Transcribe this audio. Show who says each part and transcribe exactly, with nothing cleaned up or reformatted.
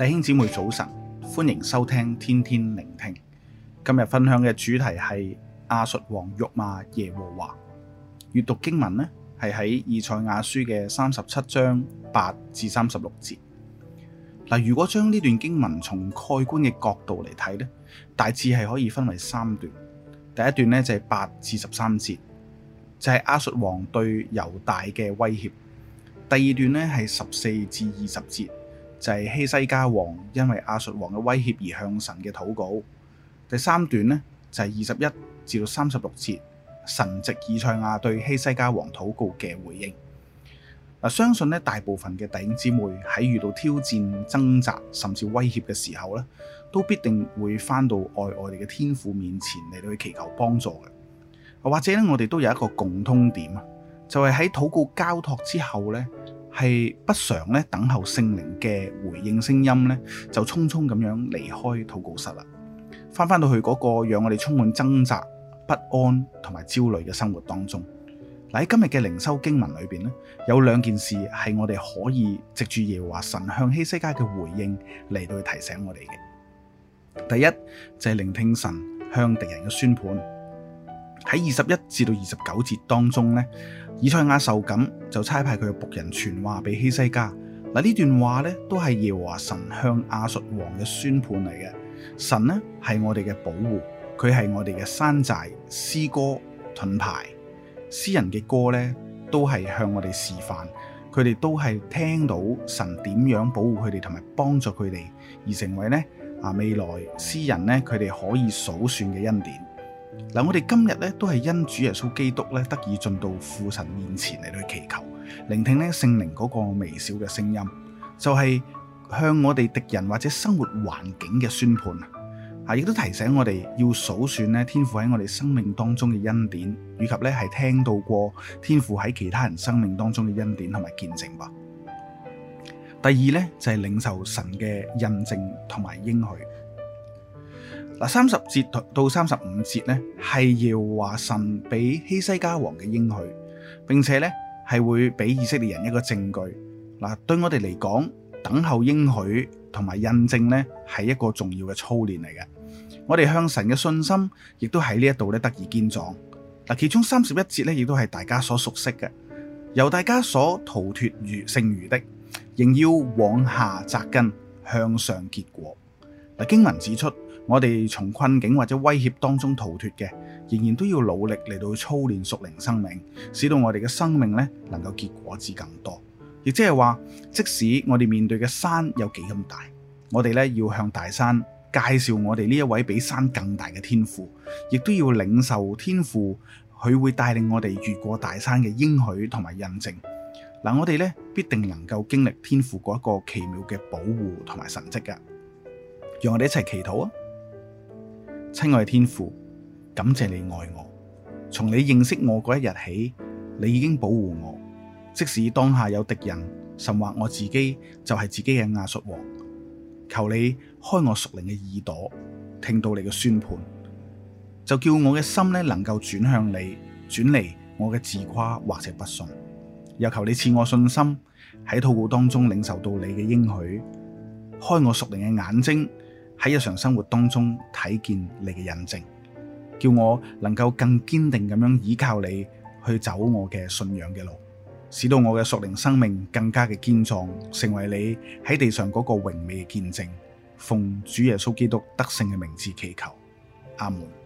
Speaker 1: 弟兄姊妹早晨，歡迎收聽天天靈聽。今日分享嘅主題係亞述王辱罵耶和華。閱讀經文呢係喺以賽亞書嘅三十七章八至三十六節。嗱，如果將呢段經文從蓋棺嘅角度嚟睇呢，大致係可以分為三段。第一段呢就係八至十三節，就係亞述王對猶大嘅威脅。第二段呢係十四至二十節，就係希西家王因為亞述王嘅威脅而向神嘅禱告。第三段呢就係二十一至到三十六節，神藉以賽亞對希西家王禱告嘅回應。嗱，相信咧大部分嘅弟兄姊妹喺遇到挑戰、掙扎甚至威脅嘅時候咧，都必定會翻到愛我哋嘅天父面前嚟到去祈求幫助嘅。或者咧，我哋都有一個共通點啊，就係喺禱告交託之後咧，係不常咧等候聖靈嘅回應聲音咧，就匆匆咁樣離開禱告室啦，翻翻到去嗰個讓我哋充滿掙扎、不安同埋焦慮嘅生活當中。嗱，喺今日嘅靈修經文裏邊咧，有兩件事係我哋可以藉住耶和華神向希西家嘅回應嚟到去提醒我哋嘅。第一就係聆聽神向敵人嘅宣判。喺二十一至到二十九節當中咧，以賽亞受感就差派佢嘅僕人傳話俾希西家。嗱，呢段話咧都係耶和華神向亞述王嘅宣判嚟嘅。神呢係我哋嘅保護，佢係我哋嘅山寨、詩歌、盾牌。詩人嘅歌咧都係向我哋示範，佢哋都係聽到神點樣保護佢哋同埋幫助佢哋，而成為咧啊未來詩人咧佢哋可以數算嘅恩典。嗱，我哋今日咧都係因主耶穌基督咧得以進到父神面前嚟去祈求，聆聽咧聖靈嗰個微小嘅聲音，就係向我哋敵人或者生活環境嘅宣判啊！亦都提醒我哋要數算咧天父喺我哋生命當中嘅恩典，以及咧係聽到過天父喺其他人生命當中嘅恩典同埋見證吧。第二咧就係領受神嘅印證同埋應許。嗱，三十節到三十五節咧係要話神俾希西家王嘅應許，並且咧係會俾以色列人一個證據。嗱，對我哋嚟講，等候應許同埋印證咧係一個重要嘅操練嚟嘅。我哋向神嘅信心亦都喺呢一度咧得以堅壯。嗱，其中三十一節咧亦都係大家所熟悉嘅，由大家所逃脫餘剩餘的，仍要往下扎根，向上結果。嗱，經文指出，我哋從困境或者威脅當中逃脫嘅，仍然都要努力嚟到操練屬靈生命，使到我哋嘅生命咧能夠結果子更多。亦即係話，即使我哋面對嘅山有幾咁大，我哋咧要向大山介紹我哋呢一位比山更大嘅天父，亦都要領受天父佢會帶領我哋越過大山嘅應許同埋印證。嗱，我哋咧必定能夠經歷天父嗰一個奇妙嘅保護同埋神蹟㗎。讓我哋一齊祈禱啊！親愛嘅天父，感謝你愛我，從你認識我嗰一日起，你已經保護我。即使當下有敵人，甚或我自己就係自己嘅亞述王，求你開我屬靈嘅耳朵，聽到你嘅宣判，就叫我嘅心咧能夠轉向你，轉離我嘅自誇或者不信。又求你賜我信心，喺禱告當中領受到你嘅應許，開我屬靈嘅眼睛，喺日常生活當中睇見你嘅印證，叫我能夠更堅定咁樣依靠你去走我嘅信仰嘅路，使到我嘅屬靈生命更加嘅堅壯，成為你喺地上嗰個榮美嘅見證。奉主耶穌基督得勝嘅名字祈求，阿門。